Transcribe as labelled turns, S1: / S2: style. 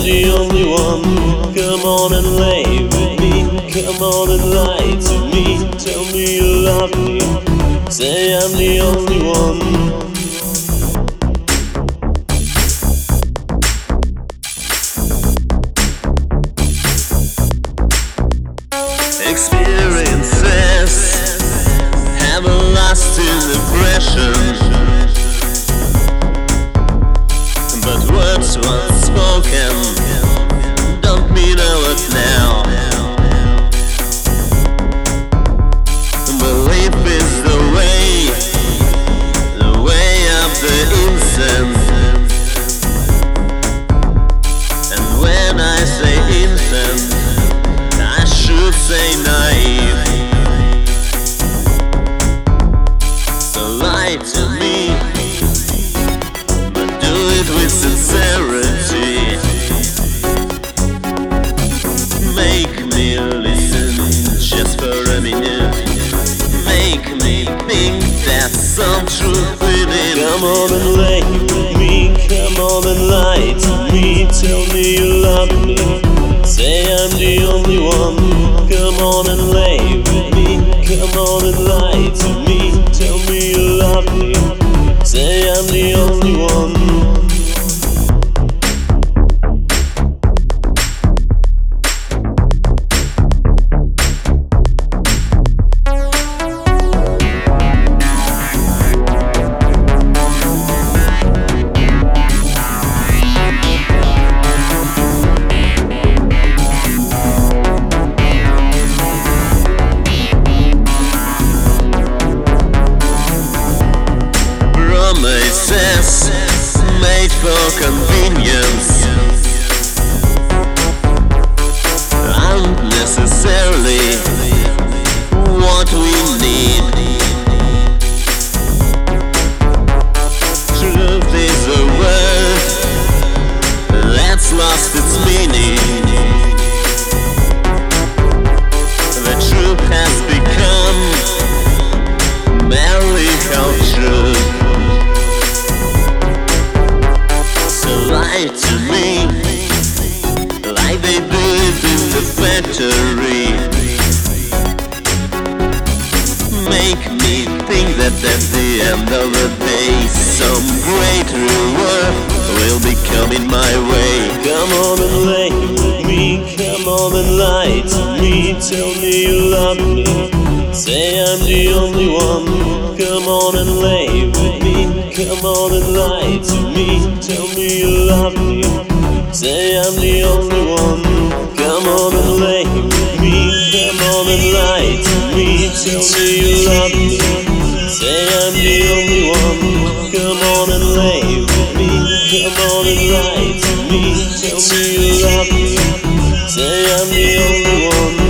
S1: the only one. Come on and lay with me. Come on and lie to me. Tell me you love me. Say I'm the only one. Experiences have a lasting impression, but words once spoken don't mean a lot now. Belief is the way of the innocent. And when I say innocent, I should say naive. So lie to me, but do it with sincerity. Make me listen just for a minute. Make me think there's some truth within. Come on and lay with me. Come on and lie to me. Tell me you love me. Say I'm the only one. Come on and lay with me. Come on and lie to me. Tell me you love me. Say I'm the only one. Promises made for convenience aren't necessarily what we need. Truth is a word that's lost its meaning. The truth has become merely culture. Lie to me like they do it in the factory. Make me think that at the end of the day some great reward will be coming my way. Come on and lay with me. Come on and lie to me. Tell me you love me. Say I'm the only one. Come on and lay with me. Come on and lie to me. Tell me you love me. Say I'm the only one. Come on and lay with me. Come on and lie to me. Tell me you love me. Say I'm the only one. Come on and lay with me. Come on and lie to me. Tell me you love me. Say I'm the only one.